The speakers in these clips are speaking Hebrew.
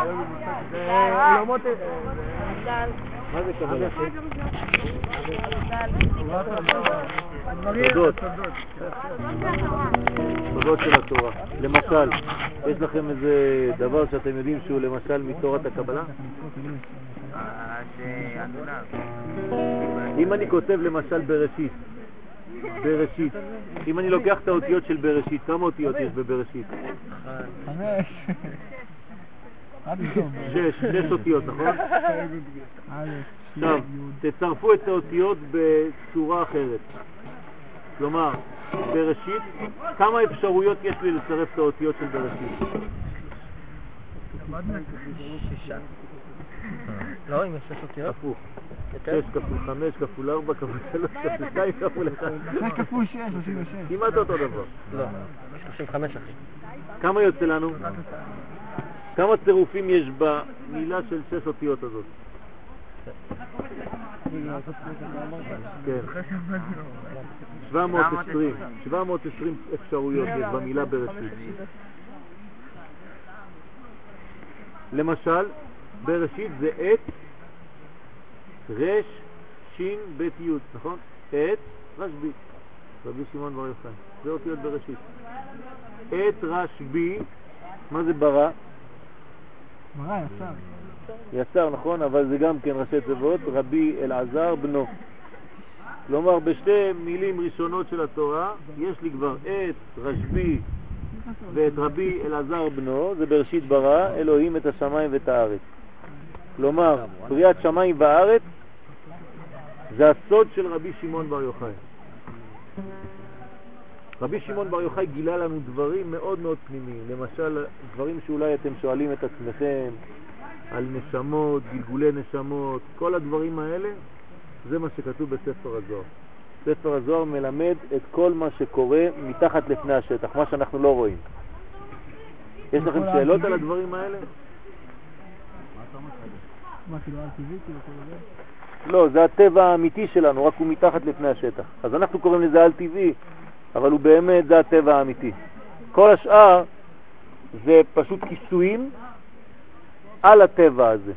עולמות... מה זה קבלה? סודות של התורה. למשל, יש לכם איזה דבר שאתם יודעים שהוא למשל מתורת הקבלה? אם אני כותב למשל בראשית, אם אני לוקח את האותיות של בראשית, כמה אותיות יש בבראשית? 6 אותיות, נכון? עכשיו, תצרפו את האותיות בצורה אחרת. כלומר, בראשית, כמה אפשרויות יש לי לצרף את האותיות של בראשית? 6. לא, אם יש 6 אותיות? הפוך. 6 כפול 5 כפול 4 כפול 3 כפול 2 כפול 1. 6 כפול 6, 36. כמעט אותו דבר. לא, 35 אחי. כמה יוצא לנו? כמה צירופים יש במילה של 6 אותיות הזאת? כן. 720 אפשרויות יש במילה בראשית. למשל, בראשית זה את, רש, שין, בית יוד, נכון? את, רשבי, רבי שמעון בר יוחאי, זה אותיות בראשית. את, רשבי, מה זה ברא? ברא, יצר. יצר, נכון, אבל זה גם כן ראשי תיבות, רבי אלעזר בנו. כלומר, בשתי מילים ראשונות של התורה, יש לי כבר את רשבי ואת רבי אלעזר בנו, זה בראשית ברא, אלוהים את השמיים ואת הארץ. כלומר, בריאת שמיים והארץ, זה הסוד של רבי שמעון בר יוחאי. רבי שמעון בר יוחאי גילה לנו דברים מאוד מאוד פנימיים, למשל, דברים שאולי אתם שואלים את עצמכם, על נשמות, גלגולי נשמות, כל הדברים האלה, זה מה שכתוב בספר הזוהר. ספר הזוהר מלמד את כל מה שקורה מתחת לפני השטח, מה שאנחנו לא רואים. יש לכם שאלות על הדברים האלה? מה, כאילו על טבעי? לא, זה הטבע האמיתי שלנו, רק הוא מתחת לפני השטח. אז אנחנו קוראים לזה על טבעי, אבל הוא באמת זה הטבע האמיתי. כל השאר זה פשוט כיסויים על הטבע הזה.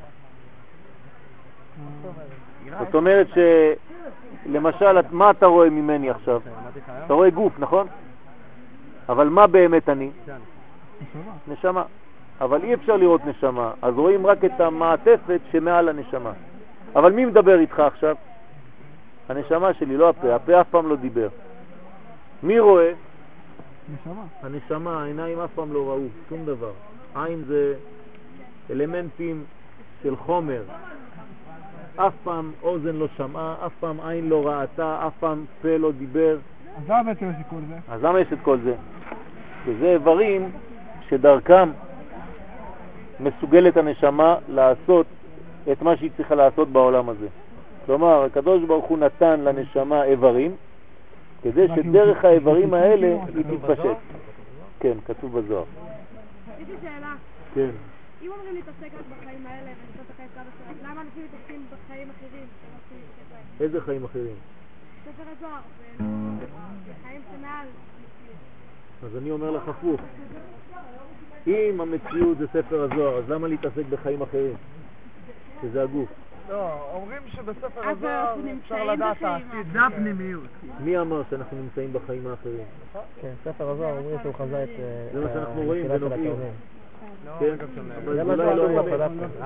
זאת אומרת שלמשל, מה אתה רואה ממני עכשיו? אתה רואה גוף, נכון? אבל מה באמת אני? נשמה. אבל אי אפשר לראות נשמה, אז רואים רק את המעטפת שמעל הנשמה. אבל מי מדבר איתך עכשיו? הנשמה שלי, לא הפה. הפה אף פעם לא דיבר. מי רואה? נשמה. הנשמה, העיניים אף פעם לא ראו, שום דבר. עין זה אלמנטים של חומר. אף פעם אוזן לא שמעה, אף פעם עין לא ראתה, אף פעם פה לא דיבר. אז למה בעצם יש את כל זה? אז למה יש את כל זה? שזה איברים שדרכם מסוגלת הנשמה לעשות את מה שהיא צריכה לעשות בעולם הזה. כלומר, הקדוש ברוך הוא נתן לנשמה איברים, כדי שדרך האיברים האלה היא תתפשט. כן, כתוב בזוהר. יש לי שאלה. כן. אם אומרים להתעסק רק בחיים האלה ולעשות את החיים שלנו, למה אנשים מתעסקים בחיים אחרים? איזה חיים אחרים? ספר הזוהר, בחיים שמעל. אז אני אומר לך הפוך. אם המציאות זה ספר הזוהר, אז למה להתעסק בחיים אחרים? שזה הגוף. לא, אומרים שבספר הזוהר אפשר לדעת העתיד. זה הפנימיות. מי אמר שאנחנו נמצאים בחיים האחרים? כן, ספר הזוהר אומרים שהוא חזה את... זה מה שאנחנו רואים ונובעים. כן, אבל זה מה לא אמת.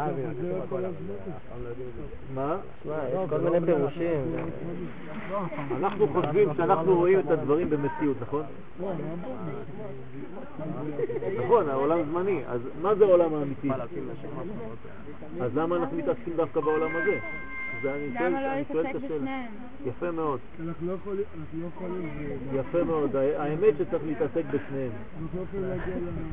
מה? יש כל מיני פירושים. אנחנו חושבים שאנחנו רואים את הדברים במציאות, נכון? נכון, העולם זמני. אז מה זה העולם האמיתי? אז למה אנחנו מתעסקים דווקא בעולם הזה? למה לא להתעסק בשניהם? יפה מאוד. אנחנו לא יכולים... יפה מאוד. האמת שצריך להתעסק בשניהם. אנחנו לא יכולים להגיע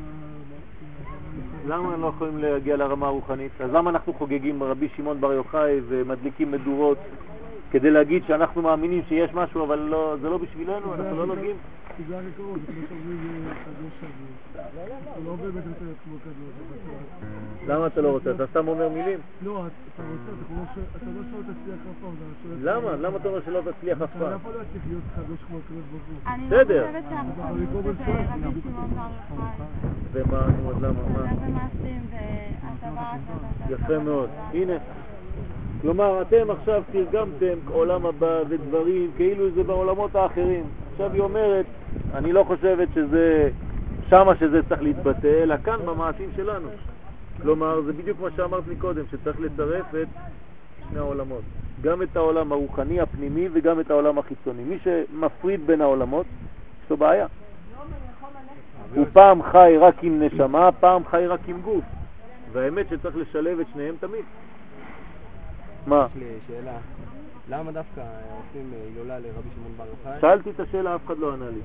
למה לא יכולים להגיע לרמה הרוחנית? אז למה אנחנו חוגגים רבי שמעון בר יוחאי ומדליקים מדורות כדי להגיד שאנחנו מאמינים שיש משהו, אבל זה לא בשבילנו, אנחנו לא נוגעים? בגלל הקרוב, זה כמו שאומרים קדוש שבוע. הוא לא באמת רוצה להיות כמו קדוש. למה אתה לא רוצה? אתה סתם אומר מילים? לא, אתה רוצה, אתה לא שלא תצליח אף פעם. למה? למה אתה אומר שלא תצליח אף פעם? אתה לא יכול להצליח להיות קדוש כמו הקדוש ברוך הוא. אני בסדר. לא חושבת שאנחנו חושבת רבי שמעון בר יוחאי. ומה, נו, אז למה? מה? ומעשים והטבעת. יפה מאוד. הנה. כלומר, אתם עכשיו תרגמתם עולם הבא ודברים כאילו זה בעולמות האחרים. עכשיו היא אומרת, אני לא חושבת שזה שמה שזה צריך להתבטא, אלא כאן במעשים שלנו. כלומר, זה בדיוק מה שאמרת לי קודם, שצריך לצרף את שני העולמות. גם את העולם הרוחני הפנימי וגם את העולם החיצוני. מי שמפריד בין העולמות, יש לו בעיה. הוא פעם חי רק עם נשמה, פעם חי רק עם גוף. והאמת שצריך לשלב את שניהם תמיד. מה? יש לי שאלה. למה דווקא עושים הילולה לרבי שמעון בר יוחאי? שאלתי את השאלה, אף אחד לא ענה לי.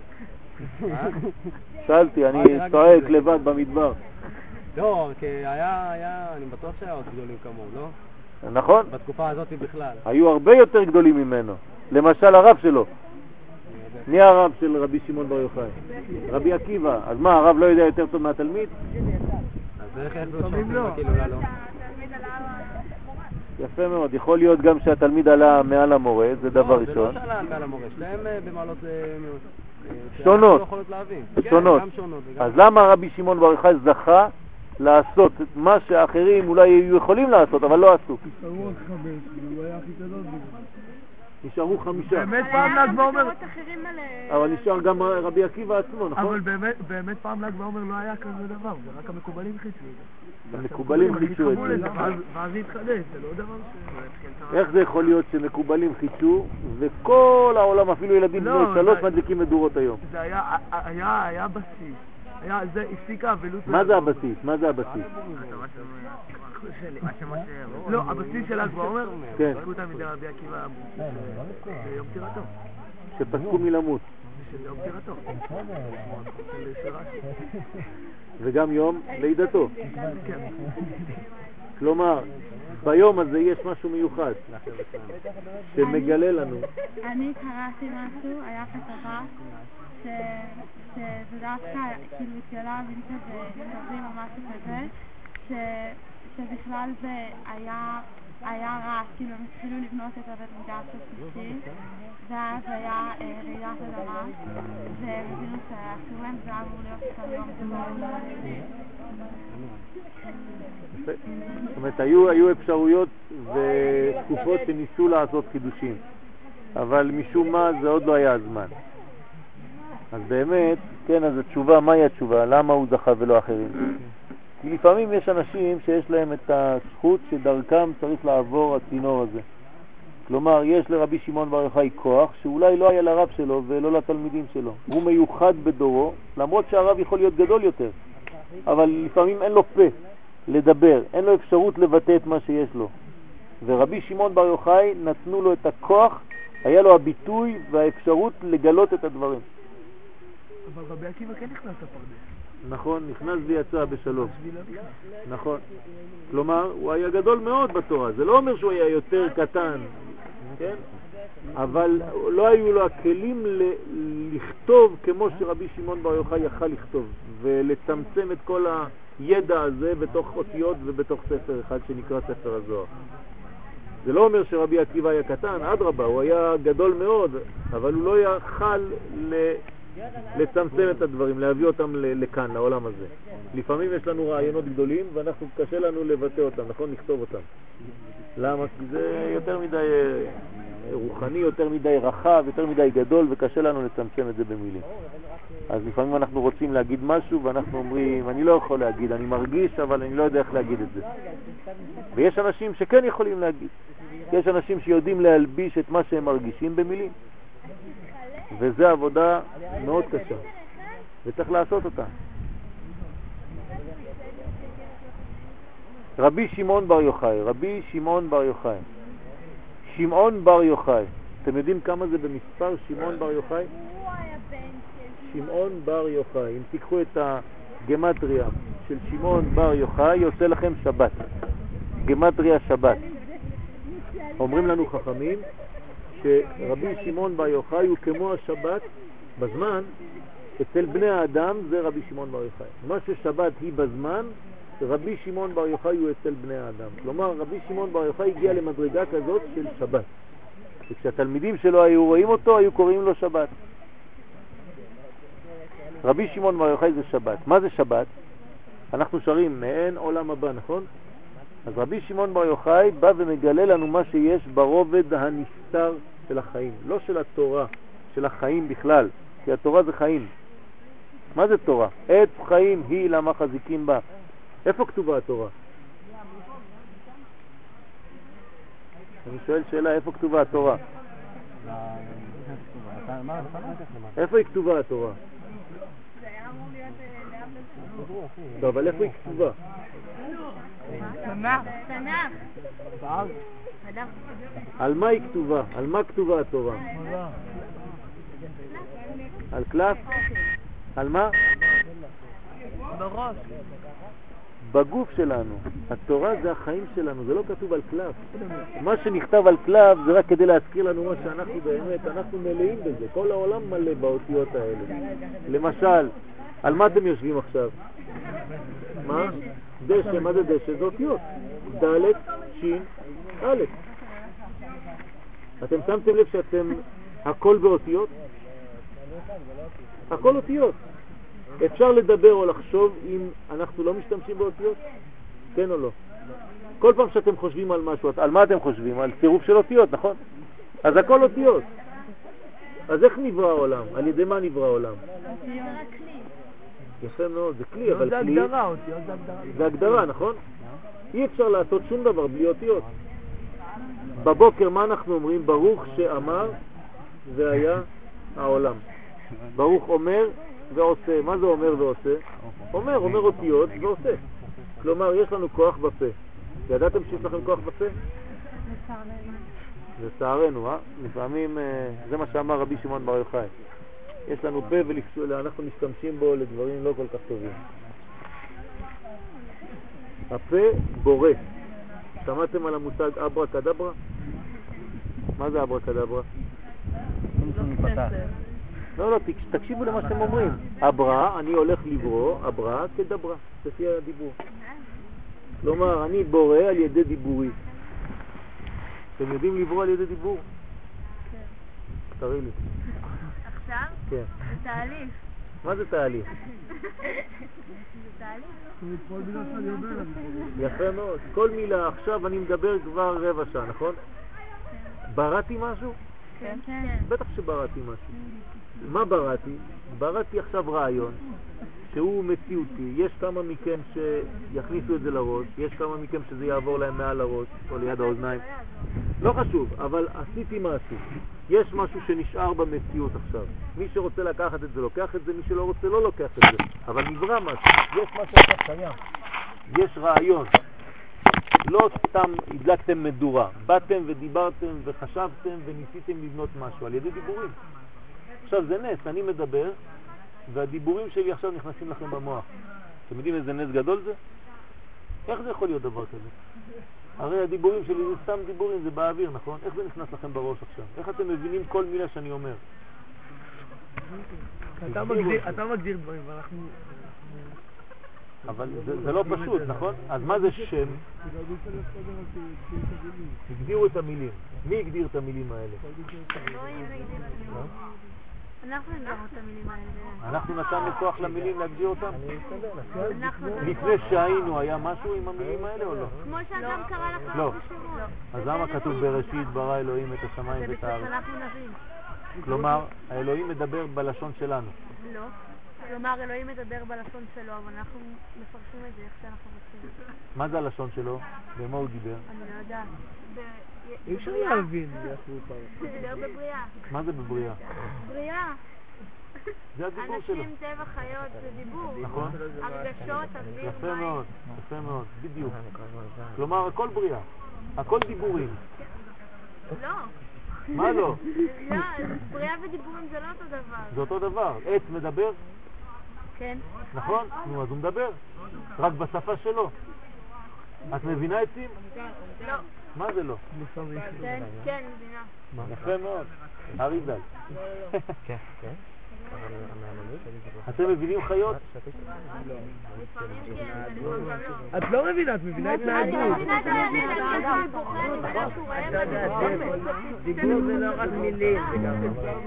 שאלתי, אני צועק לבד במדבר. לא, כי אני בטוח שהיה עוד גדולים כמוהו, לא? נכון? בתקופה הזאת בכלל. היו הרבה יותר גדולים ממנו. למשל הרב שלו. מי הרב של רבי שמעון בר יוחאי? רבי עקיבא. אז מה, הרב לא יודע יותר טוב מהתלמיד? אז איך לא שעושים רק הילולה לא? יפה מאוד, יכול להיות גם שהתלמיד עלה מעל המורה, זה דבר ראשון. זה לא שעלה מעל המורה, שלהם במעלות שונות. שונות. אז למה רבי שמעון בר יוחאי זכה לעשות מה שאחרים אולי היו יכולים לעשות, אבל לא עשו? נשארו רק 5, והוא היה הכי גדול בזה. נשארו 5. באמת פעם ל"ג בעומר... אבל נשאר גם רבי עקיבא עצמו, נכון? אבל באמת פעם ל"ג בעומר לא היה כזה דבר, זה רק המקובלים חידשו את זה. המקובלים חידשו את זה. ואז זה התחדש, זה לא דבר ש... איך זה יכול להיות שמקובלים חידשו וכל העולם, אפילו ילדים בני 3 מדליקים מדורות היום? זה היה בסיס. זה הפסיקה אבלות... מה זה הבסיס? מה זה הבסיס? לא, הבסיס של ל"ג בעומר, כן. פסקו תלמידי רבי עקיבא ביום פטירתו. שפסקו מלמות. של יום פטירתו. וגם יום לידתו. כן. כלומר, ביום הזה יש משהו מיוחד שמגלה לנו. אני קראתי משהו, היה כתבה שזה דווקא כאילו התגלה וינטה ונכתבים או משהו כזה שבכלל זה היה רע, כאילו הם התחילו לבנות את הבית מקדש השלישי ואז היה רעידת אדמה והם הבינו שאסור להם, זה אמור להיות כל יום. זאת אומרת, היו אפשרויות ותקופות שניסו לעשות חידושים, אבל משום מה זה עוד לא היה הזמן. אז באמת, כן, אז התשובה, מהי התשובה? למה הוא זכה ולא אחרים? כי לפעמים יש אנשים שיש להם את הזכות שדרכם צריך לעבור הצינור הזה. כלומר, יש לרבי שמעון בר יוחאי כוח שאולי לא היה לרב שלו ולא לתלמידים שלו. הוא מיוחד בדורו, למרות שהרב יכול להיות גדול יותר. אבל לפעמים אין לו פה לדבר, אין לו אפשרות לבטא את מה שיש לו. ורבי שמעון בר יוחאי נתנו לו את הכוח, היה לו הביטוי והאפשרות לגלות את הדברים. אבל רבי עקיבא כן נכנס לפרדס. נכון, נכנס ויצא בשלום. נכון. כלומר, הוא היה גדול מאוד בתורה. זה לא אומר שהוא היה יותר קטן, כן? אבל לא היו לו הכלים לכתוב כמו שרבי שמעון בר יוחאי יכל לכתוב, ולצמצם את כל הידע הזה בתוך אותיות ובתוך ספר אחד שנקרא ספר הזוהר. זה לא אומר שרבי עקיבא היה קטן, אדרבה, הוא היה גדול מאוד, אבל הוא לא יכל לצמצם את הדברים, להביא אותם לכאן, לעולם הזה. לפעמים יש לנו רעיונות גדולים ואנחנו קשה לנו לבטא אותם, נכון? לכתוב אותם. למה? כי זה יותר מדי רוחני, יותר מדי רחב, יותר מדי גדול, וקשה לנו לצמצם את זה במילים. אז לפעמים אנחנו רוצים להגיד משהו ואנחנו אומרים, אני לא יכול להגיד, אני מרגיש אבל אני לא יודע איך להגיד את זה. ויש אנשים שכן יכולים להגיד. יש אנשים שיודעים להלביש את מה שהם מרגישים במילים. וזה עבודה מאוד קשה, וצריך לעשות אותה. רבי שמעון בר יוחאי, רבי שמעון בר יוחאי. שמעון בר יוחאי. אתם יודעים כמה זה במספר שמעון בר יוחאי? שמעון בר יוחאי. אם תיקחו את הגמטריה של שמעון בר יוחאי, יוצא לכם שבת. גמטריה שבת. אומרים לנו חכמים שרבי שמעון בר יוחאי הוא כמו השבת בזמן, אצל בני האדם זה רבי שמעון בר יוחאי. מה ששבת היא בזמן, רבי שמעון בר יוחאי הוא אצל בני האדם. כלומר, רבי שמעון בר יוחאי הגיע למדרגה כזאת של שבת. וכשהתלמידים שלו היו רואים אותו, היו קוראים לו שבת. רבי שמעון בר יוחאי זה שבת. מה זה שבת? אנחנו שרים מעין עולם הבא, נכון? אז רבי שמעון בר יוחאי בא ומגלה לנו מה שיש ברובד הנסתר של החיים, לא של התורה, של החיים בכלל, כי התורה זה חיים. מה זה תורה? עת חיים היא למה חזיקים בה. איפה כתובה התורה? אני שואל שאלה, איפה כתובה התורה? איפה היא כתובה התורה? טוב, אבל איפה היא כתובה? על מה היא כתובה? על מה כתובה התורה? על קלף? על מה? בראש. בגוף שלנו. התורה זה החיים שלנו, זה לא כתוב על קלף. מה שנכתב על קלף זה רק כדי להזכיר לנו מה שאנחנו באמת, אנחנו מלאים בזה. כל העולם מלא באותיות האלה. למשל, על מה אתם יושבים עכשיו? מה? דשא, מה זה דשא? זה אותיות. ד', שין, א'. אתם שמתם לב שאתם הכל באותיות? הכל אותיות. אפשר לדבר או לחשוב אם אנחנו לא משתמשים באותיות? כן או לא? כל פעם שאתם חושבים על משהו, על מה אתם חושבים? על צירוף של אותיות, נכון? אז הכל אותיות. אז איך נברא העולם? על ידי מה נברא העולם? יפה מאוד, זה כלי, אבל כלי... זה הגדרה, אותיות זה הגדרה. זה הגדרה, נכון? אי אפשר לעשות שום דבר בלי אותיות. בבוקר מה אנחנו אומרים? ברוך שאמר והיה העולם. ברוך אומר ועושה. מה זה אומר ועושה? אומר אותיות ועושה. כלומר, יש לנו כוח בפה. ידעתם שיש לכם כוח בפה? לצערנו, לפעמים, זה מה שאמר רבי שמעון בר יוחאי. יש לנו פה ואנחנו משתמשים בו לדברים לא כל כך טובים. הפה בורא. שמעתם על המושג אברה קדברה? מה זה אברה קדברה? לא, תקשיבו למה שאתם אומרים. אברה, אני הולך לברוא, אברה כדברה, לפי הדיבור. כלומר, אני בורא על ידי דיבורי. אתם יודעים לברוא על ידי דיבור? כן. תראי לי. עכשיו? כן. זה תהליך. מה זה תהליך? זה תהליך. כל מילה שאני אומר, יפה מאוד. כל מילה, עכשיו אני מדבר כבר רבע שעה, נכון? בראתי משהו? כן. בטח שבראתי משהו. מה בראתי? בראתי עכשיו רעיון שהוא מציאותי. יש כמה מכם שיכניסו את זה לראש, יש כמה מכם שזה יעבור להם מעל הראש או ליד האוזניים. לא חשוב, אבל עשיתי משהו. יש משהו שנשאר במציאות עכשיו. מי שרוצה לקחת את זה לוקח את זה, מי שלא רוצה לא לוקח את זה. אבל נברא משהו. יש משהו עכשיו קיים. יש רעיון. לא סתם הדלקתם מדורה. באתם ודיברתם וחשבתם וניסיתם לבנות משהו על ידי דיבורים. עכשיו זה נס, אני מדבר והדיבורים שלי עכשיו נכנסים לכם במוח. אתם יודעים איזה נס גדול זה? איך זה יכול להיות דבר כזה? הרי הדיבורים שלי זה סתם דיבורים, זה באוויר, נכון? איך זה נכנס לכם בראש עכשיו? איך אתם מבינים כל מילה שאני אומר? אתה מגדיר דברים ואנחנו... אבל זה לא פשוט, נכון? אז מה זה שם? הגדירו את המילים. מי הגדיר את המילים האלה? אנחנו נגדיר את המילים האלה. אנחנו נתנו כוח למילים להגדיר אותם? לפני שהיינו היה משהו עם המילים האלה או לא? כמו שאדם קרא לך לא. בשמות. אז למה כתוב בראשית ברא אלוהים את השמיים זה ואת בשביל הארץ? שאנחנו נבין. כלומר, האלוהים מדבר בלשון שלנו. לא. כלומר, אלוהים מדבר בלשון שלו, אבל אנחנו מפרשים את זה איך שאנחנו רוצים. מה זה הלשון שלו? ומה הוא דיבר? אני לא יודעת. אי אפשר להבין. זה דיבר בבריאה. מה זה בבריאה? בריאה. זה הדיבור שלו. אנשים, טבע, חיות, זה דיבור. נכון? הרגשות, אוויר, יפה מים. מאוד, יפה מאוד, בדיוק. כלומר, הכל בריאה. הכל דיבורים. לא. מה לא? לא, בריאה ודיבורים זה לא אותו דבר. זה אותו דבר. עץ מדבר, כן. נכון? נו, אז הוא מדבר. רק בשפה שלו. את מבינה עצים? לא. מה זה לא? כן, מבינה. יפה מאוד. אריזל. אתם מבינים חיות? את לא מבינה, את מבינה התנהגות. דיבור זה לא רק מילים, זה גם...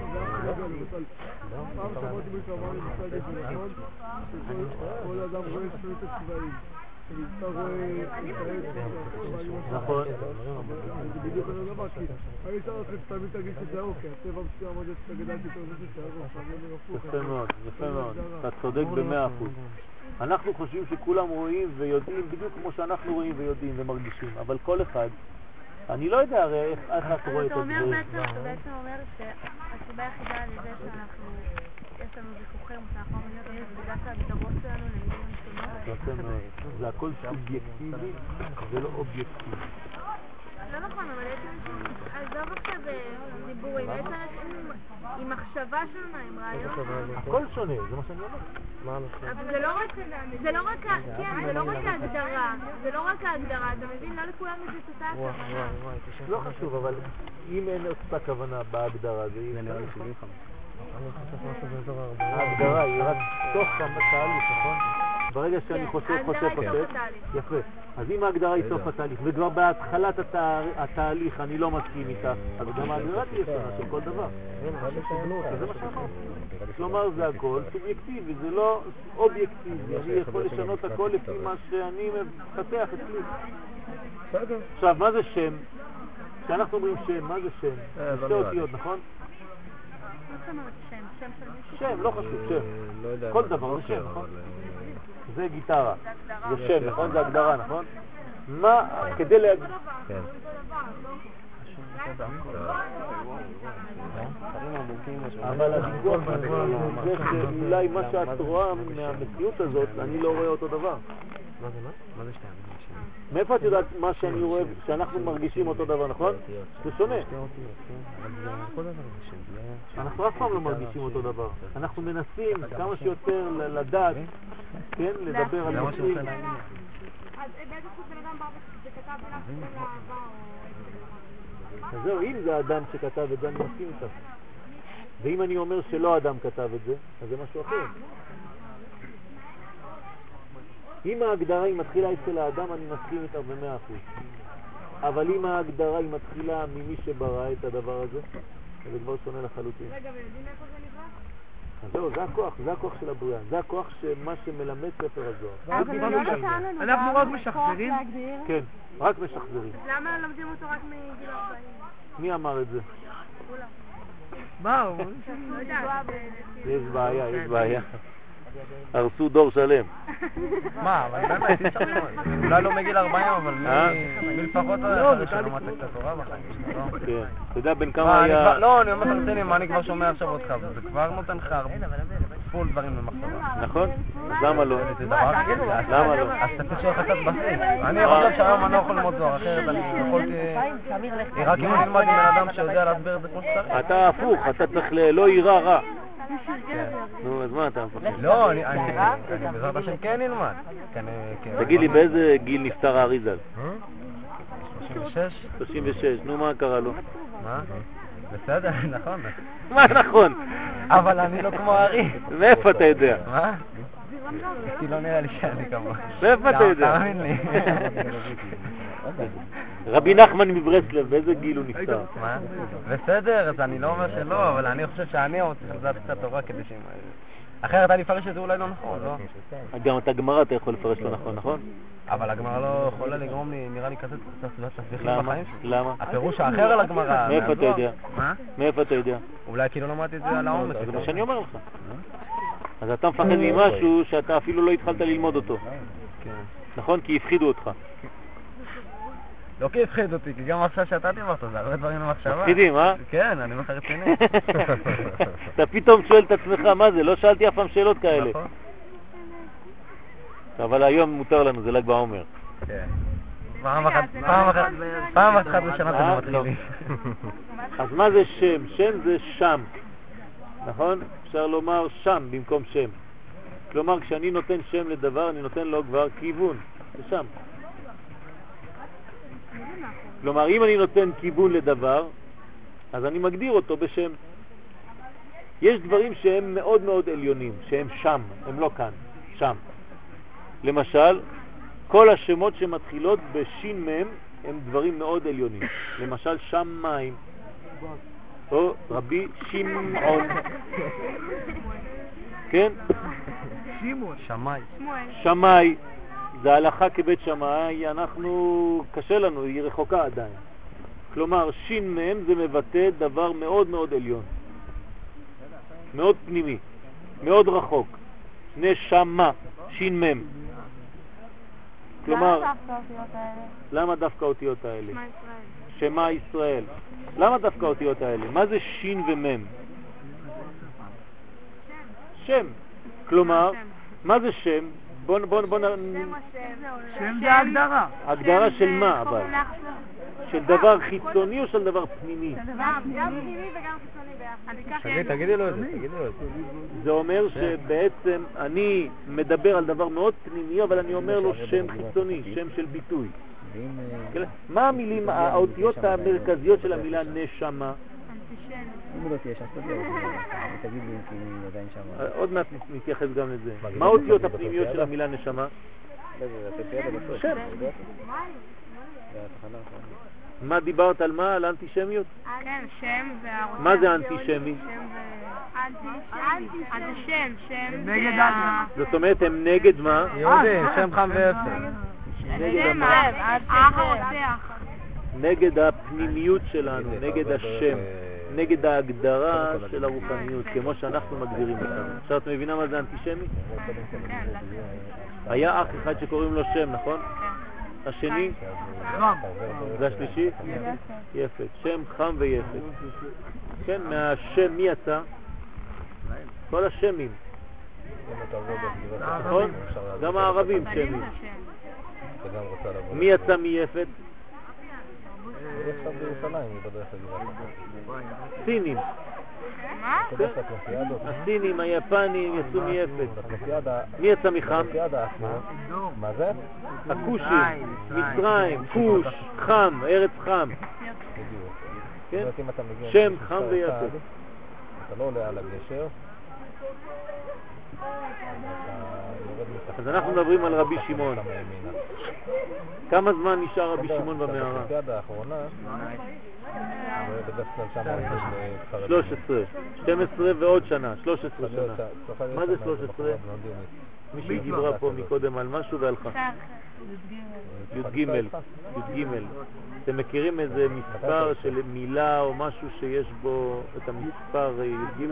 פעם שמעתי מישהו אמר לי מושג את זה נכון, שכל אדם רואה שפלט הצבעים. אתה רואה... נכון. זה בדיוק אותו דבר, כי אני אשאר לכם שתמיד תגיד שזה ארוך, כי הטבע מסוים עוד שאתה גדלתי יותר זה שזה ארוך. יפה מאוד, יפה מאוד. אתה צודק ב100%. אנחנו חושבים שכולם רואים ויודעים בדיוק כמו שאנחנו רואים ויודעים ומרגישים, אבל כל אחד, אני לא יודע הרי איך את רואה את הדברים. אתה בעצם אומר שהסיבה היחידה על ידי שאנחנו, יש לנו ויכוחים, שאנחנו אומרים זה בגלל שההגדרות שלנו למילים שונות. זה הכל סובייקטיבי ולא אובייקטיבי. לא נכון, אבל יש אנשים, עזוב עכשיו דיבורים, יש אנשים עם מחשבה שונה, עם רעיון. הכל שונה, זה מה שאני אומר. אבל זה לא רק ההגדרה, זה לא רק ההגדרה, אתה מבין? לא לכולם יש את אותה הכוונה. לא חשוב, אבל אם אין אותה כוונה בהגדרה, זה יהיה נראה לי 75. ההגדרה היא רק תוך התהליך, נכון? ברגע שאני חושב, יפה. אז אם ההגדרה היא סוף התהליך, וכבר בהתחלת התהליך אני לא מסכים איתה, אז גם ההגדרה תהיה שונה של כל דבר. זה מה שאמרתי. כלומר, זה הכל סובייקטיבי, זה לא אובייקטיבי. אני יכול לשנות הכל לפי מה שאני מפתח אצלי. עכשיו, מה זה שם? כשאנחנו אומרים שם, מה זה שם? זה שתי אותיות, נכון? שם, לא חשוב, שם. כל דבר זה שם, נכון? זה גיטרה, זה שם, נכון? זה הגדרה, נכון? מה, כדי להגיד... אבל הדיווח זה שאולי מה שאת רואה מהמציאות הזאת, אני לא רואה אותו דבר. מה זה שתיים? מאיפה את יודעת מה שאני רואה, שאנחנו מרגישים אותו דבר, נכון? זה שונה. אנחנו אף פעם לא מרגישים אותו דבר. אנחנו מנסים כמה שיותר לדעת, כן, לדבר על נושאים. אז באיזה סוג בן אדם זה כתב בלך אז זהו, אם זה האדם שכתב את זה, אני מסכים איתך. ואם אני אומר שלא האדם כתב את זה, אז זה משהו אחר. אם ההגדרה היא מתחילה אצל האדם, אני מסכים איתה ב100%. אבל אם ההגדרה היא מתחילה ממי שברא את הדבר הזה, זה כבר שונה לחלוטין. רגע, ויודעים איפה זה נברא? אז זהו, זה הכוח של הבריאה. זה הכוח שמה שמלמד ספר הזוהר. אבל לא נתן לנו אנחנו רק משחזרים? כן, רק משחזרים. למה לומדים אותו רק מגיל 40? מי אמר את זה? מה הוא? לא יודעת. יש בעיה, יש בעיה. הרסו דור שלם. מה, אבל באמת, אי אפשר ללמוד. אולי לא מגיל 40, אבל מלפחות אחרי שלמדת את התורה בחיים שלך, לא? כן. אתה יודע בין כמה היה... לא, אני אומר לך לצלם, מה אני כבר שומע עכשיו אותך, זה כבר נותן לך פול דברים במחשבה. נכון? אז למה לא? זה דבר רגיל. למה לא? אז אתה תשאיר לך קצת בסיס. אני חושב שהיום אני לא יכול ללמוד זוהר, אחרת אני יכולתי... רק אם אני אלמד עם בן אדם שיודע להסביר את זה כמו שצריך. אתה הפוך, אתה צריך לא יירא רע. נו, אז מה אתה מפחד? לא, אני בעזרת השם כן נלמד. תגיד לי, באיזה גיל נפטר האריזל? 36? 36, נו מה קרה לו? מה? בסדר, נכון. מה נכון? אבל אני לא כמו הארי. מאיפה אתה יודע? מה? כי לא נראה לי שאני כמוה. מאיפה אתה יודע? תאמין לי. רבי נחמן מברסלב, באיזה גיל הוא נפטר? מה? בסדר, אז אני לא אומר שלא, אבל אני חושב שאני עוד צריך לדעת קצת תורה כדי שהם... אחרת אני אפרש את זה אולי לא נכון, לא? גם את הגמרא אתה יכול לפרש לא נכון, נכון? אבל הגמרא לא יכולה לגרום לי, נראה לי כזה תסביכים בחיים שלי. למה? הפירוש האחר על הגמרא. מאיפה אתה יודע? מה? מאיפה אתה יודע? אולי כי לא למדתי את זה על העומק. זה מה שאני אומר לך. אז אתה מפחד ממשהו שאתה אפילו לא התחלת ללמוד אותו. נכון? כי הפחידו אותך. לא כי הפחיד אותי, כי גם עכשיו שאתה דיברת, זה הרבה דברים למחשבה. מפחידים, אה? כן, אני אומר לך רציני. אתה פתאום שואל את עצמך, מה זה? לא שאלתי אף פעם שאלות כאלה. נכון. אבל היום מותר לנו, זה ל"ג בעומר. כן. פעם אחת בשנה זה מתחילים. אז מה זה שם? שם זה שם. נכון? אפשר לומר שם במקום שם. כלומר, כשאני נותן שם לדבר, אני נותן לו כבר כיוון. זה שם. כלומר, אם אני נותן כיוון לדבר, אז אני מגדיר אותו בשם. יש דברים שהם מאוד מאוד עליונים, שהם שם, הם לא כאן, שם. למשל, כל השמות שמתחילות בשין מם הם דברים מאוד עליונים. למשל, שמיים, או רבי שמעון. כן? שמאי. שמאי, זה הלכה כבית שמאי, אנחנו, קשה לנו, היא רחוקה עדיין. כלומר, שין מם זה מבטא דבר מאוד מאוד עליון. מאוד פנימי, מאוד רחוק. נשמה, שין מם. כלומר, למה דווקא אותיות האלה? שמה ישראל. למה דווקא אותיות האלה? מה זה שין ומם? שם. כלומר, מה זה שם? בוא שם זה ההגדרה. הגדרה של מה אבל? של דבר חיצוני או של דבר פנימי? גם פנימי וגם חיצוני ביחד. תגידי לו את זה, תגידי לו את זה. זה אומר שבעצם אני מדבר על דבר מאוד פנימי, אבל אני אומר לו שם חיצוני, שם של ביטוי. מה המילים, האותיות המרכזיות של המילה נשמה? אם לא תהיה שסת זה, תגיד לי כי אני עדיין שם. עוד מעט נתייחס גם לזה. מה האותיות הפנימיות של המילה נשמה? שם. מה דיברת על מה? על אנטישמיות? כן, שם והרוצה. מה זה אנטישמי? אז זה שם. נגד אדם. זאת אומרת, הם נגד מה? יהודי, שם חם ואפר. שם האח הרוצח. נגד הפנימיות שלנו, נגד השם, נגד ההגדרה של הרוחניות, כמו שאנחנו מגדירים אותנו. עכשיו את מבינה מה זה אנטישמי? היה אח אחד שקוראים לו שם, נכון? השני? חם. והשלישי? יפת. שם חם ויפת. כן, מהשם מי יצא? כל השמים. נכון? גם הערבים שמים. מי יצא מיפת? סינים. מה? הסינים, היפנים יצאו מיפת. מי יצא מחם? מה זה? הכושים, מצרים, כוש, חם, ארץ חם. כן? שם חם ויפת. אתה לא עולה על הגשר. אז אנחנו מדברים על רבי שמעון. כמה זמן נשאר רבי שמעון במערה? באולימפיאדה האחרונה, בדרך כלל שם 13, 12 ועוד שנה, 13 שנה. מה זה 13? מישהי דיברה פה מקודם על משהו והלכה. י"ג. אתם מכירים איזה מספר של מילה או משהו שיש בו את המספר י"ג?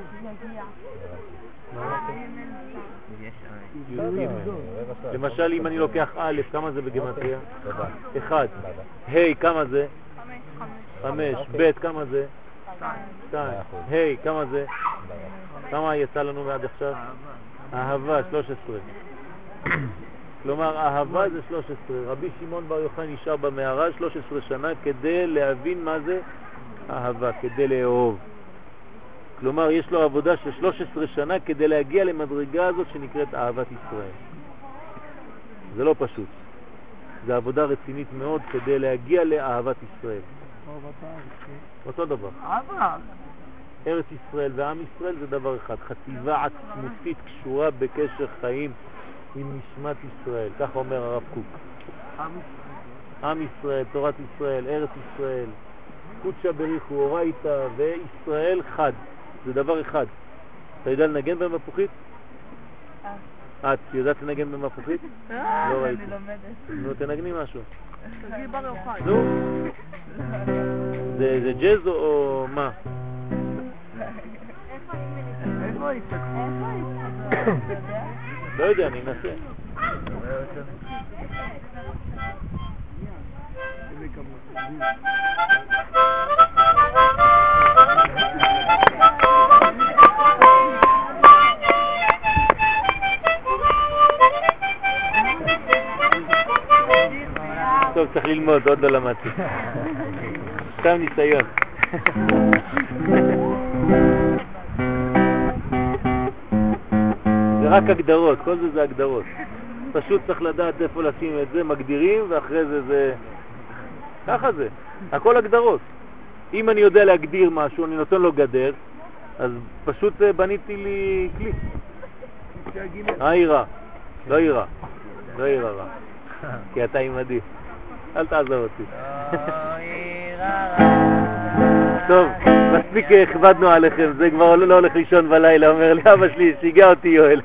י"ג. למשל אם אני לוקח א', כמה זה בגימטריה? 1. ה', כמה זה? 5. ב', כמה זה? 2. ה', כמה זה? כמה יצא לנו מעד עכשיו? אהבה, 13. כלומר, אהבה זה 13. רבי שמעון בר יוחאי נשאר במערה 13 שנה כדי להבין מה זה אהבה, כדי לאהוב. כלומר, יש לו עבודה של 13 שנה כדי להגיע למדרגה הזאת שנקראת אהבת ישראל. זה לא פשוט. זה עבודה רצינית מאוד כדי להגיע לאהבת ישראל. אותו דבר. ארץ ישראל ועם ישראל זה דבר אחד. חטיבה עצמותית קשורה בקשר חיים עם נשמת ישראל. כך אומר הרב קוק. עם ישראל, תורת ישראל, ארץ ישראל, קודשא בריחו, אורייתא וישראל חד. זה דבר אחד. אתה יודע לנגן במפוחית? את יודעת לנגן במפוחית? לא ראיתי. אני לומדת. נו, תנגני משהו. תגידי בר יוחאי. נו. זה ג'אז או מה? איפה היא? לא יודע, אני אנסה. טוב, צריך ללמוד, עוד לא למדתי. סתם ניסיון. זה רק הגדרות, כל זה הגדרות. פשוט צריך לדעת איפה לשים את זה, מגדירים, ואחרי זה ככה זה. הכל הגדרות. אם אני יודע להגדיר משהו, אני נותן לו גדר, אז פשוט בניתי לי כלי. העירה, לא עירה, לא עירה רע, כי אתה עימדי, אל תעזור אותי. טוב, מספיק הכבדנו עליכם, זה כבר לא הולך לישון בלילה, אומר לי אבא שלי, שיגע אותי יואל.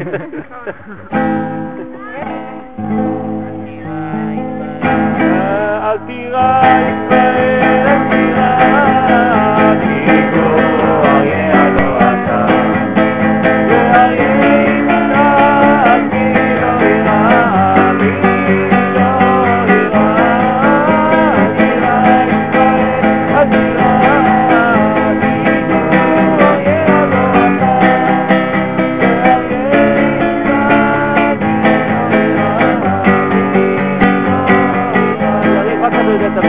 אל תירא ישראל, אל תירא, כי גוי ידו אתה, ואריה יצחק, כי לא ירא, כי לא ירא, אל תירא ישראל, אל תירא, כי גוי ידו אתה, ואריה יצחק, כי לא ירא, אתה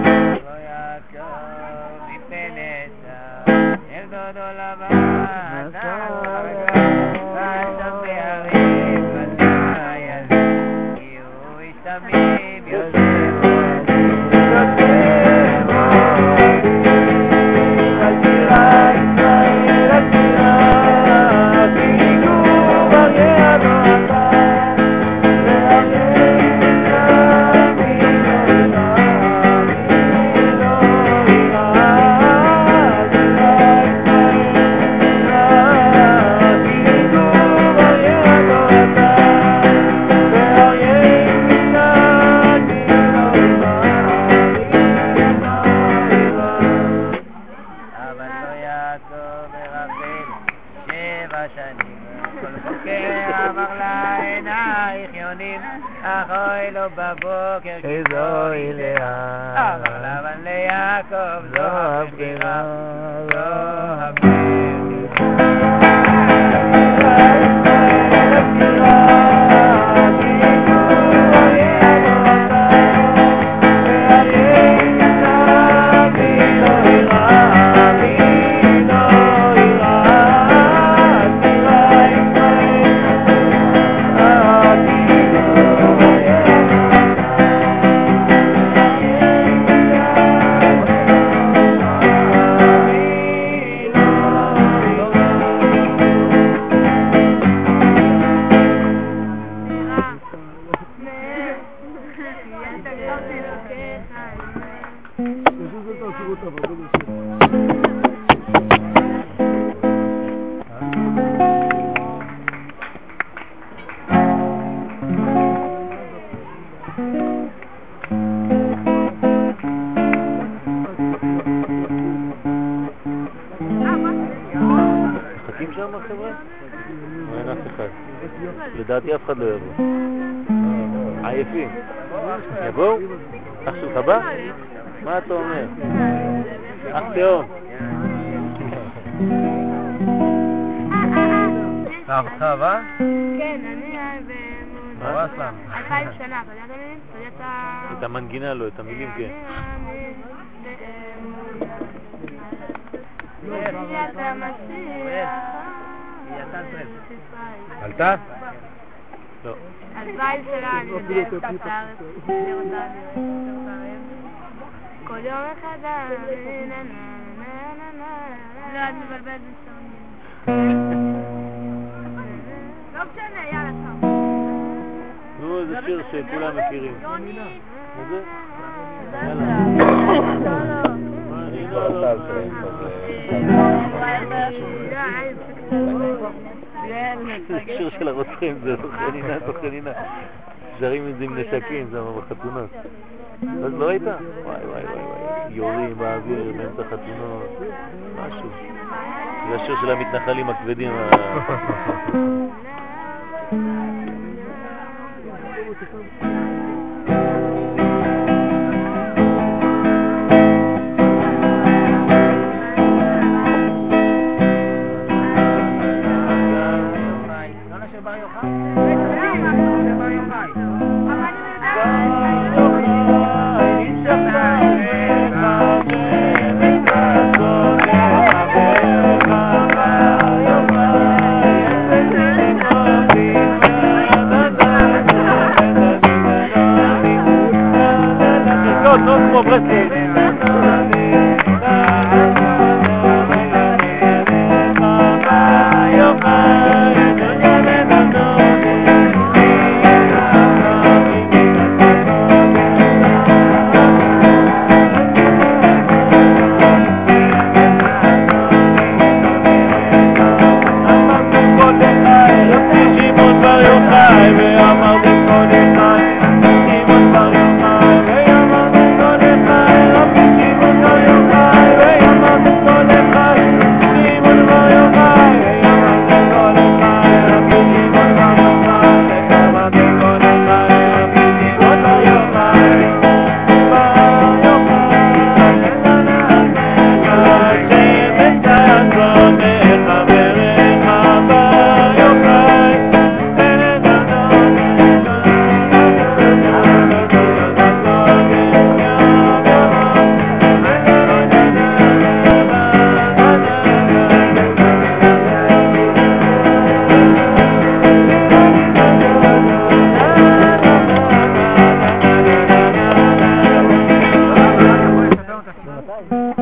אחוי לו בבוקר כזוי לאה, אבל לבן ליעקב זו הבחירה, זו הבחירה. לדעתי אף אחד לא יבוא. עייפים. יבואו? אח שלך בא? מה אתה אומר? אח תאום. אהבתך בא? כן, אני מה אסלאם? 2000 שנה, אתה יודע את המילים? את המנגינה לא, את המילים כן. עלתה? לא. 2000 שנה אני יודעת את הארץ, אני רוצה כל יום מחדש, לא, את מבלבלת בסרנים. לא משנה, יאללה שם. נו, זה שיר שכולם מכירים. מה זה? זה שיר של הרוצחים, זה חנינה. שרים את זה עם נשקים, זה בחתונות. אז לא ראית? וואי, יורים באוויר באמצע חתונות, משהו. זה השיר של המתנחלים הכבדים.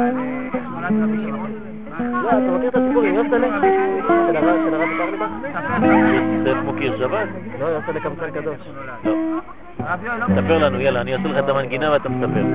שמונת רבי שמעון. לא, אתה מכיר את הסיפורים, יוסטלה? של הרב קרליבך? סף מוקיר שבת? לא, יוסטלה קמצן קדוש. לא. תספר לנו, יאללה, אני אעשה לך את המנגינה ואתה מספר.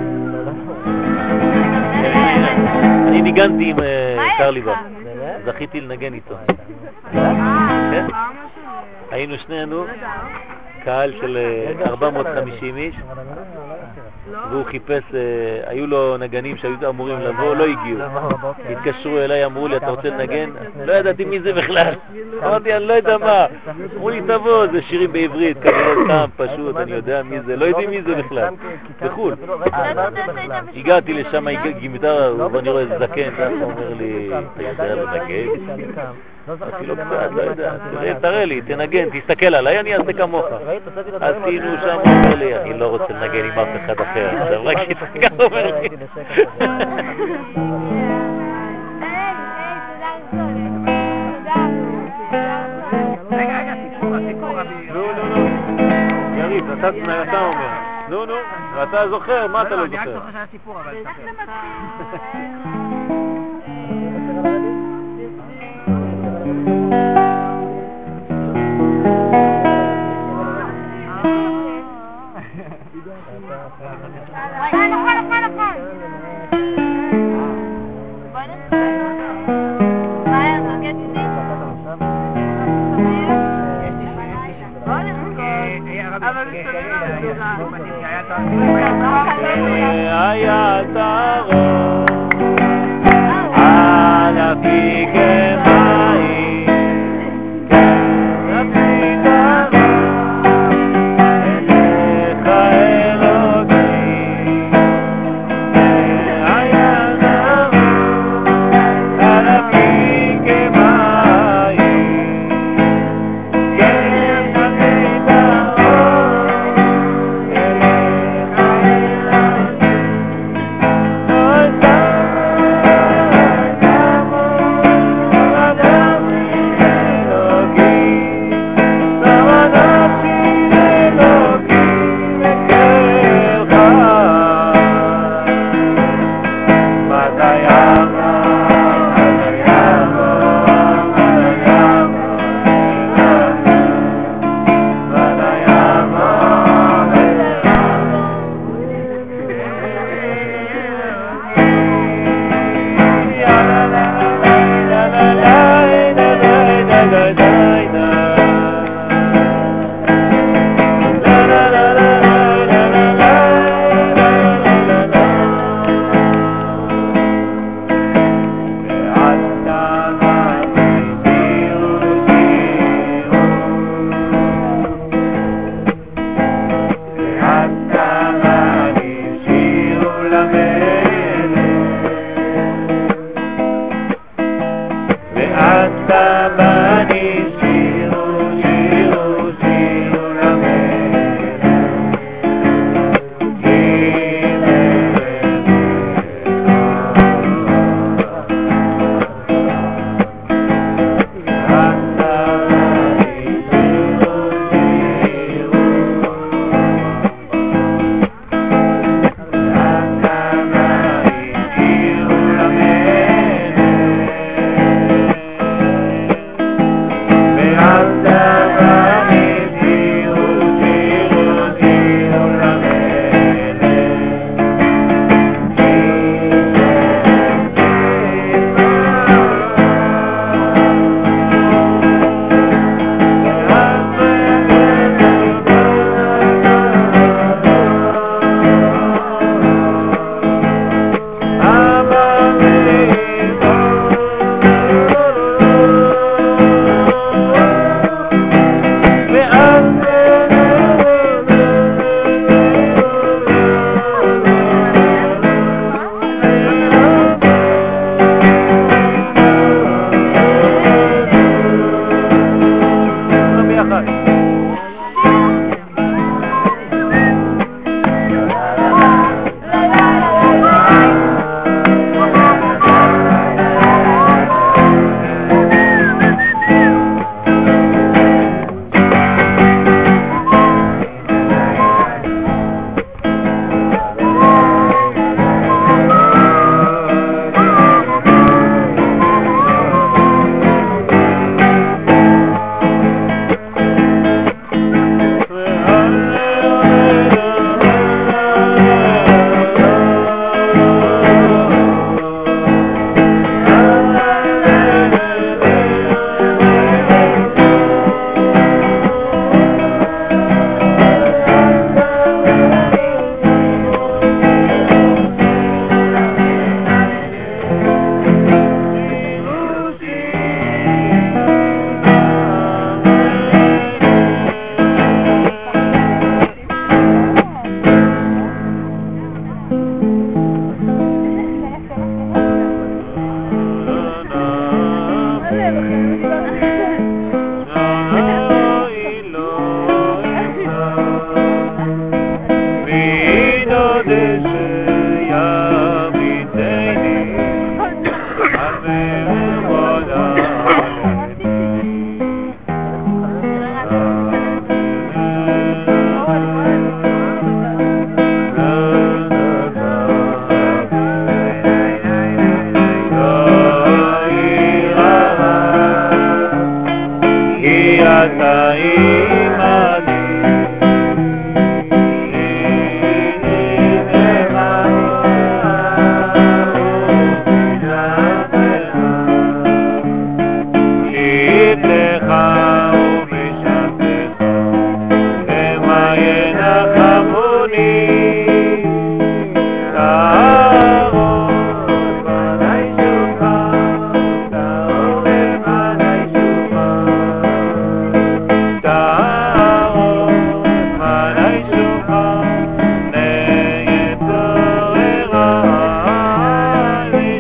אני ניגנתי עם קרליבך, זכיתי לנגן איתו. כן? היינו שנינו קהל של 450 איש, והוא חיפש, היו לו נגנים שהיו אמורים לבוא, לא הגיעו. התקשרו אליי, אמרו לי, אתה רוצה לנגן? לא ידעתי מי זה בכלל. אמרתי, אני לא יודע מה. אמרו לי, תבוא, זה שירים בעברית, כנראה סתם, פשוט, אני יודע מי זה, לא יודעים מי זה בכלל. בחול. הגעתי לשם, גימטרה, ואני רואה זקן, הוא אומר לי, אתה יודע לנגן? אמרתי לו קצת, לא יודע, תראה לי, תנגן, תסתכל עליי, אני אעשה כמוך. עשינו שם, הוא אומר לי, אני לא רוצה לנגן עם אף אחד אחר, עכשיו רק תסתכל, אומר לי. רגע, סיפור, רבי. נו, יריב, אתה אומר. נו, אתה זוכר, מה אתה לא אני רק זוכר? זוכר שהיה סיפור, אבל תספר. היה תרום על אפיק מים כנפי תרום אליך אלוקים היה תרום על אפיק מים כנפי ואתה בני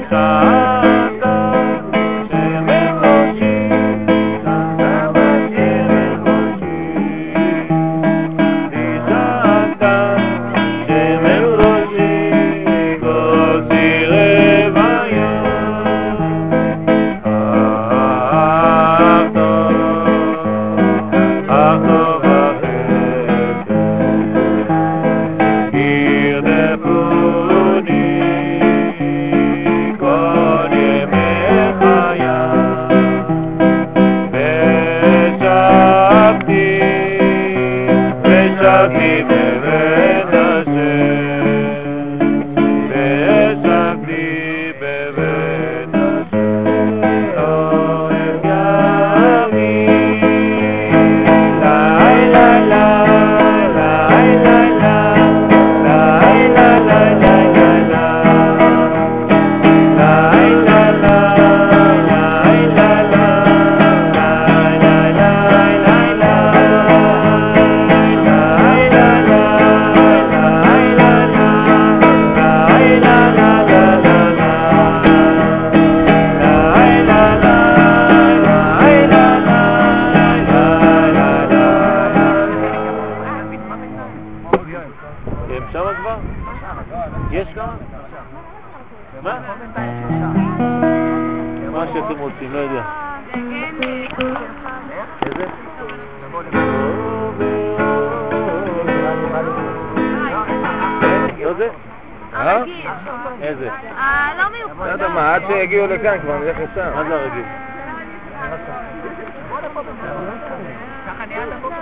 יש כמה? מה? מה שאתם רוצים, לא יודע. איזה? לא זה? איזה? לא מיוחד. לא יודע מה, עד שיגיעו לכאן כבר נלך לשם. מה זה הרגיל? ככה נהיה את הבוקר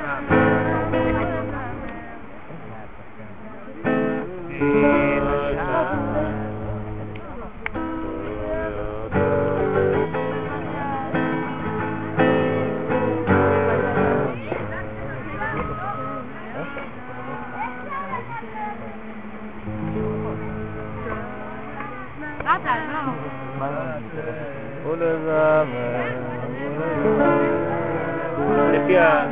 לפי ה...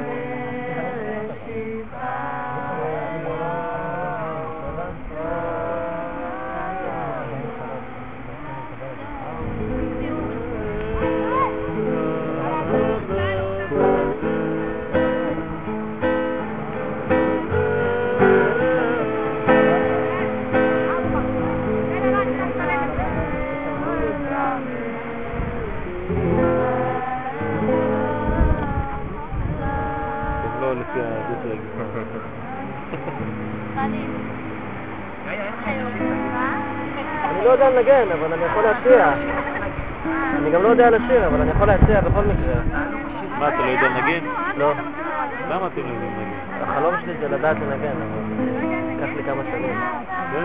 אני לא יודע לנגן, אבל אני יכול להציע. אני גם לא יודע לשיר, אבל אני יכול להציע בכל מקרה. מה, אתה לא יודע לנגן? לא. למה אתם לא יודעים לנגן? החלום שלי זה לדעת לנגן, אבל ייקח לי כמה שנים. כן?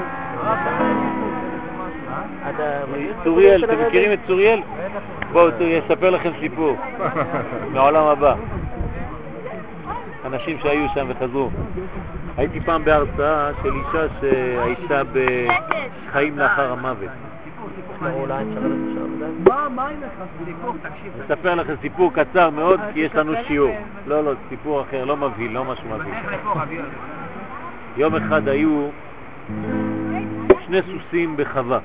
צוריאל, אתם מכירים את צוריאל? בואו, אספר לכם סיפור מהעולם הבא. אנשים שהיו שם וחזרו. הייתי פעם בהרצאה של אישה שהייתה בחיים לאחר המוות. אספר לכם סיפור קצר מאוד כי יש לנו שיעור. לא, סיפור אחר, לא מבהיל, לא משהו מבהיל. יום אחד היו שני סוסים בחווה.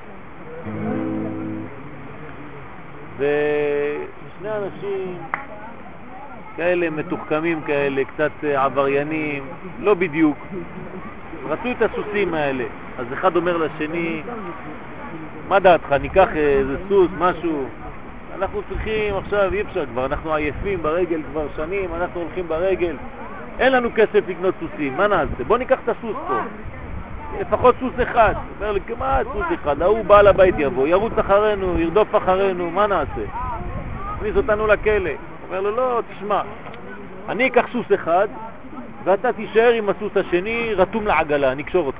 ושני אנשים כאלה מתוחכמים כאלה, קצת עבריינים, לא בדיוק. רצו את הסוסים האלה. אז אחד אומר לשני, מה דעתך, ניקח איזה סוס, משהו? אנחנו צריכים עכשיו, אי אפשר כבר, אנחנו עייפים ברגל כבר שנים, אנחנו הולכים ברגל. אין לנו כסף לקנות סוסים, מה נעשה? בוא ניקח את הסוס פה. לפחות סוס אחד. אומר לי, כמעט סוס אחד. ההוא בעל הבית יבוא, ירוץ אחרינו, ירדוף אחרינו, מה נעשה? הכניס אותנו לכלא. אומר לו, לא, תשמע, אני אקח סוס אחד, ואתה תישאר עם הסוס השני, רתום לעגלה, אני אקשור אותך.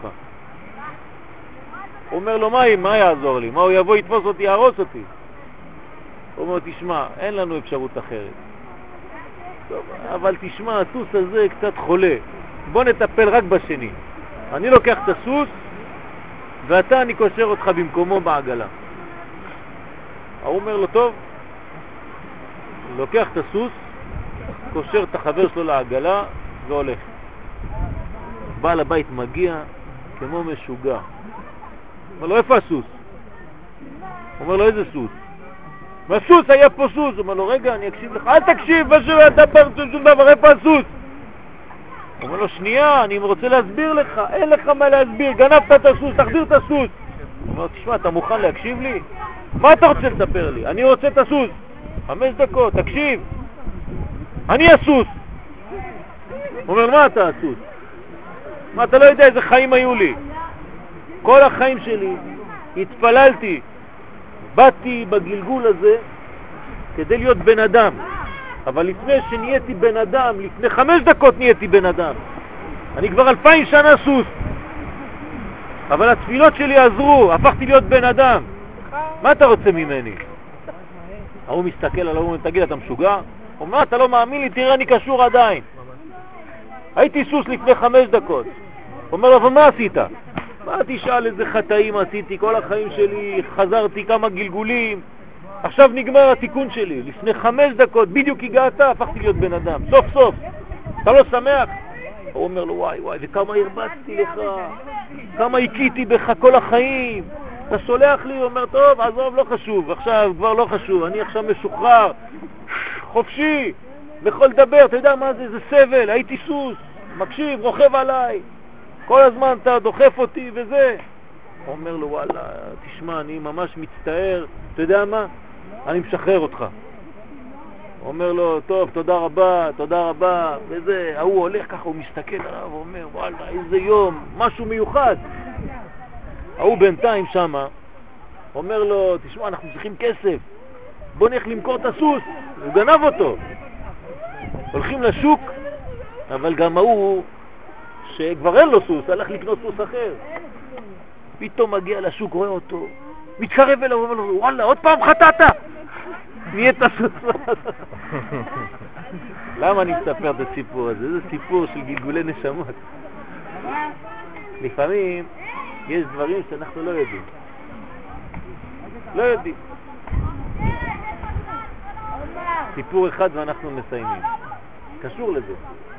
הוא אומר לו, מה יעזור לי? מה, הוא יבוא, יתפוס אותי, יהרוס אותי? הוא אומר, תשמע, אין לנו אפשרות אחרת. טוב, אבל תשמע, הסוס הזה קצת חולה. בוא נטפל רק בשני. אני לוקח את הסוס, ואתה אני קושר אותך במקומו בעגלה. הוא אומר לו, טוב, לוקח את הסוס, קושר את החבר שלו לעגלה והולך. בעל הבית מגיע כמו משוגע. אומר לו, איפה הסוס? אומר לו, איזה סוס? והסוס, היה פה סוס. אומר לו, רגע, אני אקשיב לך. אל תקשיב, מה שאתה שום דבר, איפה הסוס? אומר לו, שנייה, אני רוצה להסביר לך, אין לך מה להסביר, גנבת את הסוס, תחזיר את הסוס. אומר לו, תשמע, אתה מוכן להקשיב לי? מה אתה רוצה לספר לי? אני רוצה את הסוס. 5 דקות, תקשיב. אני הסוס. אומר, מה אתה הסוס? מה, אתה לא יודע איזה חיים היו לי. כל החיים שלי התפללתי, באתי בגלגול הזה כדי להיות בן אדם. אבל לפני שנהייתי בן אדם, לפני 5 דקות נהייתי בן אדם. אני כבר 2000 שנה סוס. אבל התפילות שלי עזרו, הפכתי להיות בן אדם. מה אתה רוצה ממני? הוא מסתכל עליו, הוא אומר, תגיד, אתה משוגע? הוא אומר, אתה לא מאמין לי, תראה, אני קשור עדיין. הייתי סוס לפני 5 דקות. הוא אומר לו, אבל מה עשית? מה תשאל איזה חטאים עשיתי? כל החיים שלי חזרתי כמה גלגולים. עכשיו נגמר התיקון שלי. לפני 5 דקות בדיוק הגעת, הפכתי להיות בן אדם. סוף סוף. אתה לא שמח? הוא אומר לו, וואי וואי, וכמה הרבצתי לך, כמה הכיתי בך כל החיים. אתה סולח לי? הוא אומר, טוב, עזוב, לא חשוב. עכשיו כבר לא חשוב. אני עכשיו משוחרר, חופשי, יכול לדבר. אתה יודע מה זה? זה סבל. הייתי סוס, מקשיב, רוכב עליי. כל הזמן אתה דוחף אותי וזה. הוא אומר לו, וואלה, תשמע, אני ממש מצטער. אתה יודע מה? אני משחרר אותך. הוא אומר לו, טוב, תודה רבה, וזה. הוא הולך ככה, הוא מסתכל עליו, הוא אומר, וואלה, איזה יום, משהו מיוחד. הוא בינתיים שמה, אומר לו, תשמע, אנחנו צריכים כסף. בוא נלך למכור את הסוס. הוא גנב אותו. הולכים לשוק, אבל גם הוא שכבר אין לו סוס, הלך לקנות סוס אחר. פתאום מגיע לשוק, רואה אותו, מתקרב אליו, אומר לו, וואלה, עוד פעם חטאת. נהיית הסוס. למה אני מספר את הסיפור הזה? זה סיפור של גלגולי נשמות. לפעמים יש דברים שאנחנו לא יודעים. לא יודעים. סיפור אחד ואנחנו מסיימים. קשור לזה.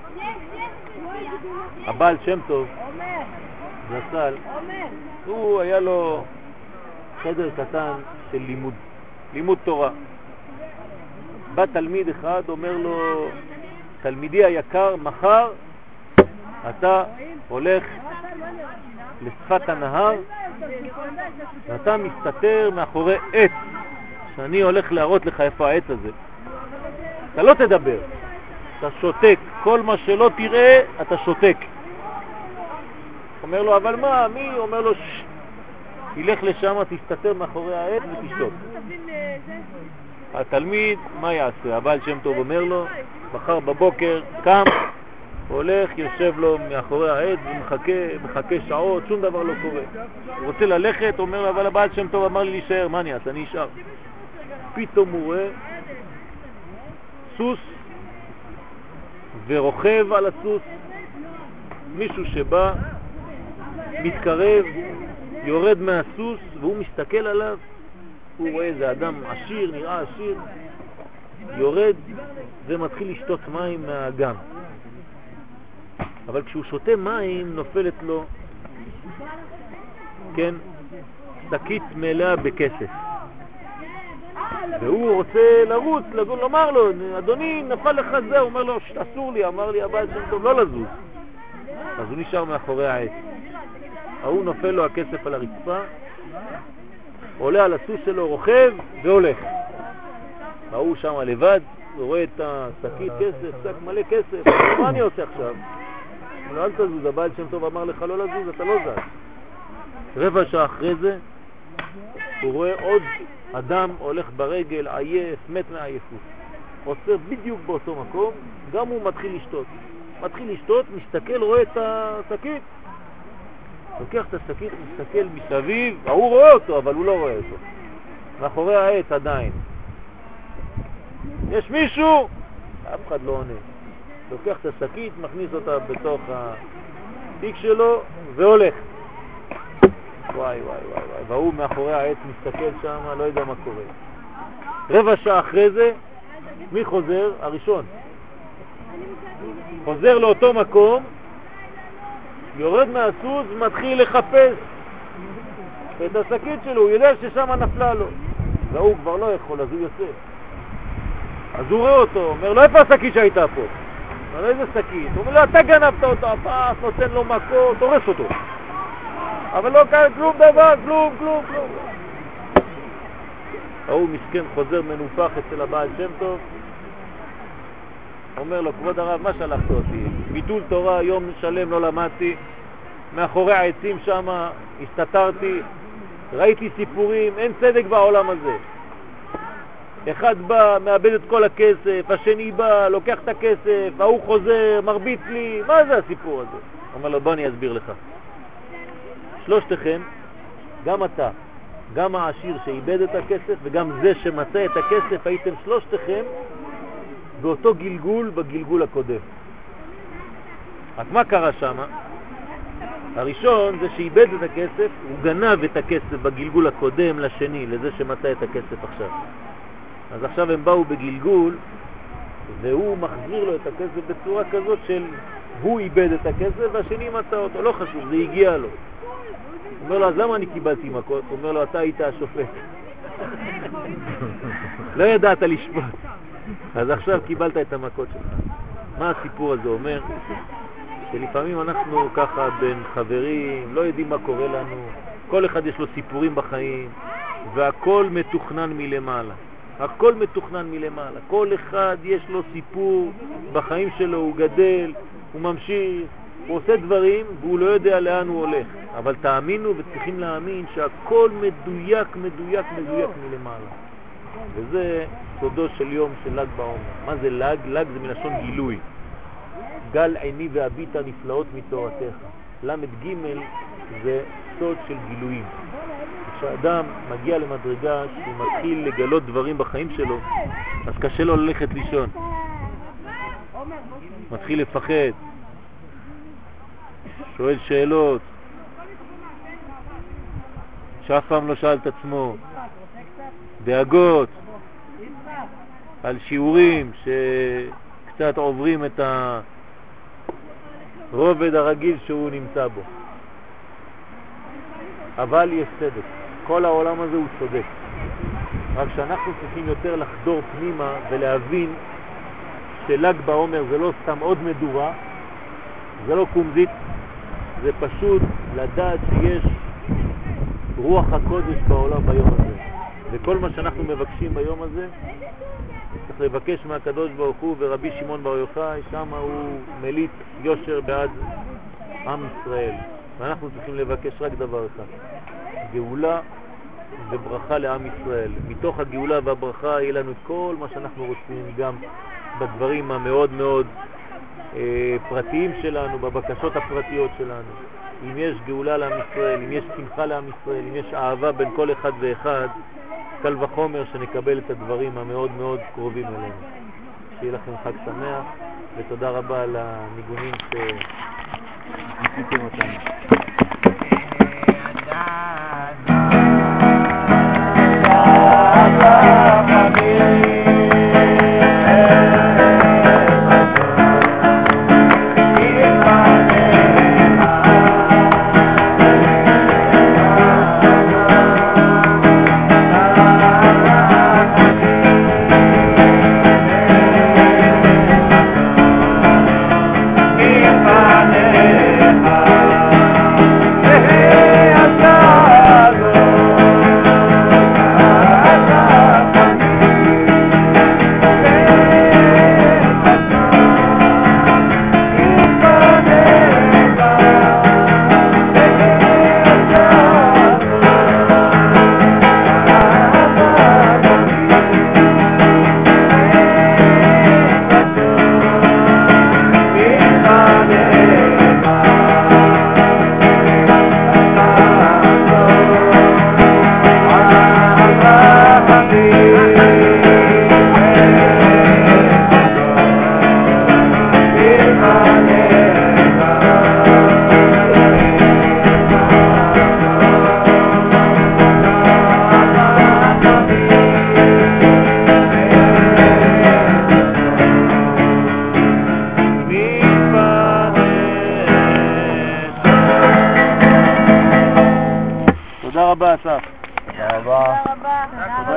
הבעל שם טוב, זצ"ל, הוא היה לו חדר קטן של לימוד תורה. בא תלמיד אחד, אומר לו, תלמידי היקר, מחר אתה הולך לשפת הנהר ואתה מסתתר מאחורי עץ, שאני הולך להראות לך איפה העץ הזה. אתה לא תדבר, אתה שותק, כל מה שלא תראה אתה שותק. אומר לו, אבל מה, מי? אומר לו, ילך לשם, תסתתר מאחורי העץ ותשתוק. התלמיד, מה יעשה? הבעל שם טוב אומר לו, מחר בבוקר קם, הולך, יושב לו מאחורי העץ ומחכה שעות, שום דבר לא קורה. הוא רוצה ללכת, אומר לו, אבל הבעל שם טוב אמר לי להישאר, מה אני אעשה? אני אשאר. פתאום הוא רואה סוס ורוכב על הסוס, מישהו שבא, מתקרב, יורד מהסוס והוא מסתכל עליו, הוא רואה איזה אדם עשיר, נראה עשיר, יורד ומתחיל לשתות מים מהאגם. אבל כשהוא שותה מים נופלת לו, כן, שקית מלאה בכסף. והוא רוצה לרוץ, לומר לו, אדוני, נפל לך זה. הוא אומר לו, אסור לי, אמר לי הבעל שם טוב, לא לזוז. אז הוא נשאר מאחורי העץ. הוא נופל לו הכסף על הרצפה, עולה על הסוס שלו, רוכב והולך. הוא שם לבד, הוא רואה את השקית כסף, שק מלא כסף. מה אני עושה עכשיו? הוא לא, אל תזוז, הבעל שם טוב אמר לך לא לזוז, אתה לא זז. רבע שעה אחרי זה הוא רואה עוד אדם הולך ברגל, עייף, מת מעייפות. עוצר בדיוק באותו מקום, גם הוא מתחיל לשתות. מסתכל, רואה את השקית, לוקח את השקית, מסתכל מסביב, הוא רואה אותו אבל הוא לא רואה אותו, מאחורי העץ עדיין. יש מישהו? אף אחד לא עונה. לוקח את השקית, מכניס אותה בתוך התיק שלו והולך. וואי. והוא מאחורי העץ מסתכל שם, לא יודע מה קורה. רבע שעה אחרי זה, מי חוזר? הראשון. חוזר לאותו מקום, יורד מהסוס, מתחיל לחפש. את השקית שלו, הוא יודע ששם נפלה לו. והוא כבר לא יכול, אז הוא יוצא. אז הוא רואה אותו, אומר לו, איפה השקית שהייתה פה? אומר לו, איזה שקית? הוא אומר לו, אתה גנבת אותו, הפס, נותן לו מכות, תורס אותו. אבל לא קרה כלום דבר, כלום. ההוא מסכן חוזר מנופח אצל הבעל שם טוב, אומר לו, כבוד הרב, מה שלחת אותי? ביטול תורה, יום שלם לא למדתי, מאחורי העצים שם הסתתרתי, ראיתי סיפורים, אין צדק בעולם הזה. אחד בא, מאבד את כל הכסף, השני בא, לוקח את הכסף, ההוא חוזר, מרביץ לי, מה זה הסיפור הזה? אומר לו, בוא אני אסביר לך. שלושתכם, גם אתה, גם העשיר שאיבד את הכסף וגם זה שמצא את הכסף, הייתם שלושתכם באותו גלגול בגלגול הקודם. רק מה קרה שם? הראשון זה שאיבד את הכסף, הוא גנב את הכסף בגלגול הקודם לשני, לזה שמצא את הכסף עכשיו. אז עכשיו הם באו בגלגול והוא מחזיר לו את הכסף בצורה כזאת של הוא איבד את הכסף והשני מצא אותו, לא חשוב, זה הגיע לו. הוא אומר לו, אז למה אני קיבלתי מכות? הוא אומר לו, אתה היית השופט. לא ידעת לשפוט. אז עכשיו קיבלת את המכות שלך. מה הסיפור הזה אומר? שלפעמים אנחנו ככה בין חברים, לא יודעים מה קורה לנו, כל אחד יש לו סיפורים בחיים, והכל מתוכנן מלמעלה. הכל מתוכנן מלמעלה. כל אחד יש לו סיפור בחיים שלו, הוא גדל, הוא ממשיך, הוא עושה דברים והוא לא יודע לאן הוא הולך. אבל תאמינו וצריכים להאמין שהכל מדויק מלמעלה. וזה סודו של יום של ל"ג בעומר. מה זה ל"ג? ל"ג זה מלשון גילוי. גל עיני והביטה נפלאות מתורתך. למ"ג זה סוד של גילויים. כשאדם מגיע למדרגה שהוא מתחיל לגלות דברים בחיים שלו, אז קשה לו ללכת לישון. מתחיל לפחד, שואל שאלות שאף פעם לא שאל את עצמו, דאגות על שיעורים שקצת עוברים את הרובד הרגיל שהוא נמצא בו. אבל יש צדק, כל העולם הזה הוא צודק, רק שאנחנו צריכים יותר לחדור פנימה ולהבין של"ג בעומר זה לא סתם עוד מדורה, זה לא קומזית, זה פשוט לדעת שיש רוח הקודש בעולם ביום הזה. וכל מה שאנחנו מבקשים ביום הזה צריך לבקש מהקדוש ברוך הוא, ורבי שמעון בר יוחאי שם הוא מליט יושר בעד עם ישראל, ואנחנו צריכים לבקש רק דבר אחד, גאולה וברכה לעם ישראל. מתוך הגאולה והברכה יהיה לנו כל מה שאנחנו רוצים, גם בדברים המאוד מאוד פרטיים שלנו, בבקשות הפרטיות שלנו. אם יש גאולה לעם ישראל, אם יש שמחה לעם ישראל, אם יש אהבה בין כל אחד ואחד, קל וחומר שנקבל את הדברים המאוד מאוד קרובים אלינו. שיהיה לכם חג שמח, ותודה רבה על הניגונים שעשיתם אותנו.